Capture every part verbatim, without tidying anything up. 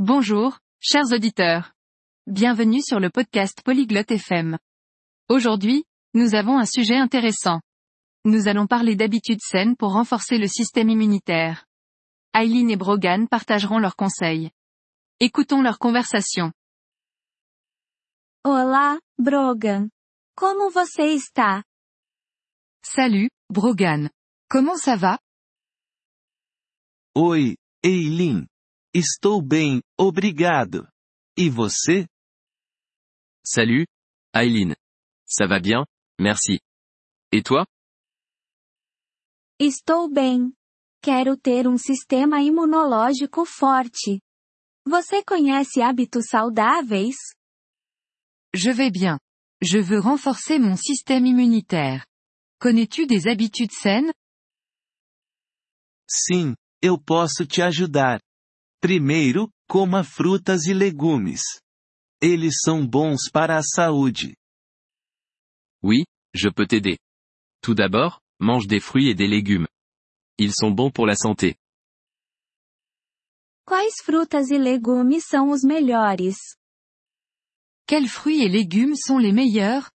Bonjour, chers auditeurs. Bienvenue sur le podcast Polyglotte F M. Aujourd'hui, nous avons un sujet intéressant. Nous allons parler d'habitudes saines pour renforcer le système immunitaire. Aileen et Brogan partageront leurs conseils. Écoutons leur conversation. Olá, Brogan. Como você está? Salut, Brogan. Comment ça va? Oi, Aileen. Estou bem, obrigado. E você? Salut, Aileen. Ça va bien, merci. Et toi? Estou bem. Quero ter um sistema imunológico forte. Você conhece hábitos saudáveis? Je vais bien. Je veux renforcer mon système immunitaire. Connais-tu des habitudes saines? Sim, eu posso te ajudar. Primeiro, coma frutas e legumes. Eles são bons para a saúde. Oui, je peux t'aider. Tout d'abord, mange des fruits et des légumes. Ils sont bons pour la santé. Quais frutas e legumes são os melhores? Quels fruits et légumes sont les meilleurs?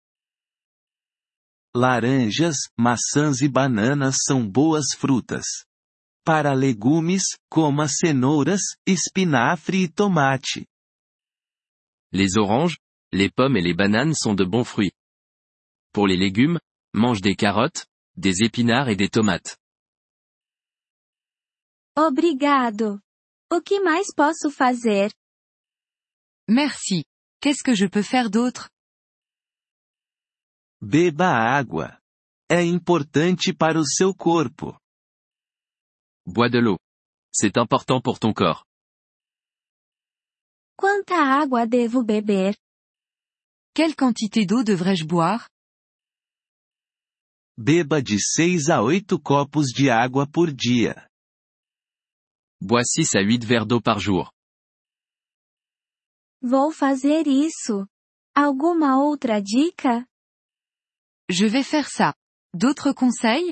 Laranjas, maçãs e bananas são boas frutas. Para legumes, coma cenouras, espinafre e tomate. Les oranges, les pommes et les bananes sont de bons fruits. Pour les légumes, mange des carottes, des épinards et des tomates. Obrigado. O que mais posso fazer? Merci. Qu'est-ce que je peux faire d'autre? Beba água. É importante para o seu corpo. Bois de l'eau. C'est important pour ton corps. Quanta água devo beber? Quelle quantité d'eau devrais-je boire? Beba de seis a oito copos de água por dia. Bois six à huit verres d'eau par jour. Vou fazer isso. Alguma outra dica? Je vais faire ça. D'autres conseils?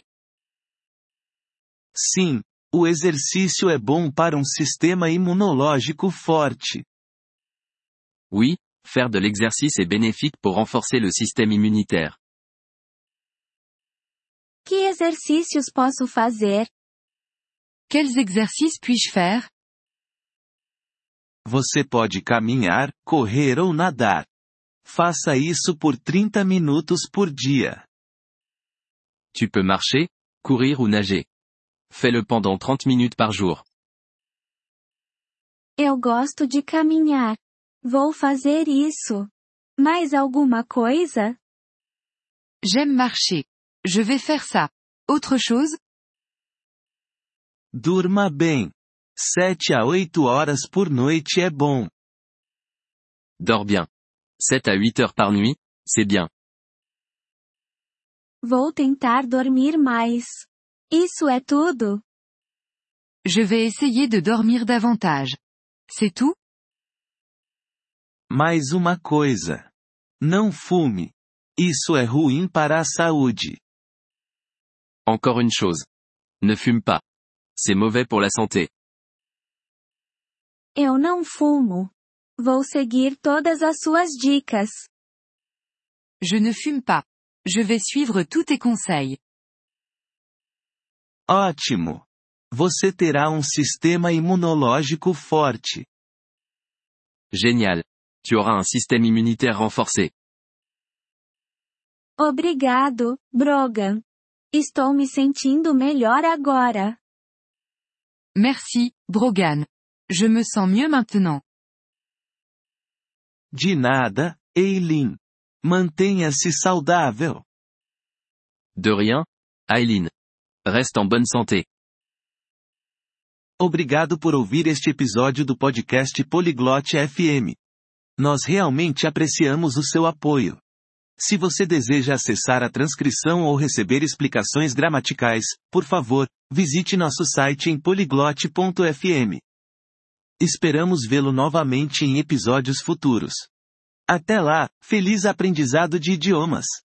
Sim, o exercício é bom para um sistema imunológico forte. Oui, faire de l'exercice est bénéfique pour renforcer le système immunitaire. Que exercícios posso fazer? Quels exercices puis-je faire? Você pode caminhar, correr ou nadar. Faça isso por trinta minutos por dia. Tu peux marcher, courir ou nager. Fais-le pendant trente minutes par jour. Eu gosto de caminhar. Vou fazer isso. Mais alguma coisa? J'aime marcher. Je vais faire ça. Autre chose? Durma bem. Sete a oito horas por noite é bom. Dors bien. sept à huit heures par nuit, c'est bien. Vou tentar dormir mais. Isso é tudo? Je vais essayer de dormir davantage. C'est tout? Mais uma coisa. Não fume. Isso é ruim para a saúde. Encore une chose. Ne fume pas. C'est mauvais pour la santé. Eu não fumo. Vou seguir todas as suas dicas. Je ne fume pas. Je vais suivre tous tes conseils. Ótimo! Você terá um sistema imunológico forte. Génial. Tu auras un système immunitaire renforcé. Obrigado, Brogan. Estou me sentindo melhor agora. Merci, Brogan. Je me sens mieux maintenant. De nada, Aileen. Mantenha-se saudável. De rien, Aileen. Reste en bonne santé. Obrigado por ouvir este episódio do podcast Polyglotte F M. Nós realmente apreciamos o seu apoio. Se você deseja acessar a transcrição ou receber explicações gramaticais, por favor, visite nosso site em polyglotte ponto f m. Esperamos vê-lo novamente em episódios futuros. Até lá, feliz aprendizado de idiomas!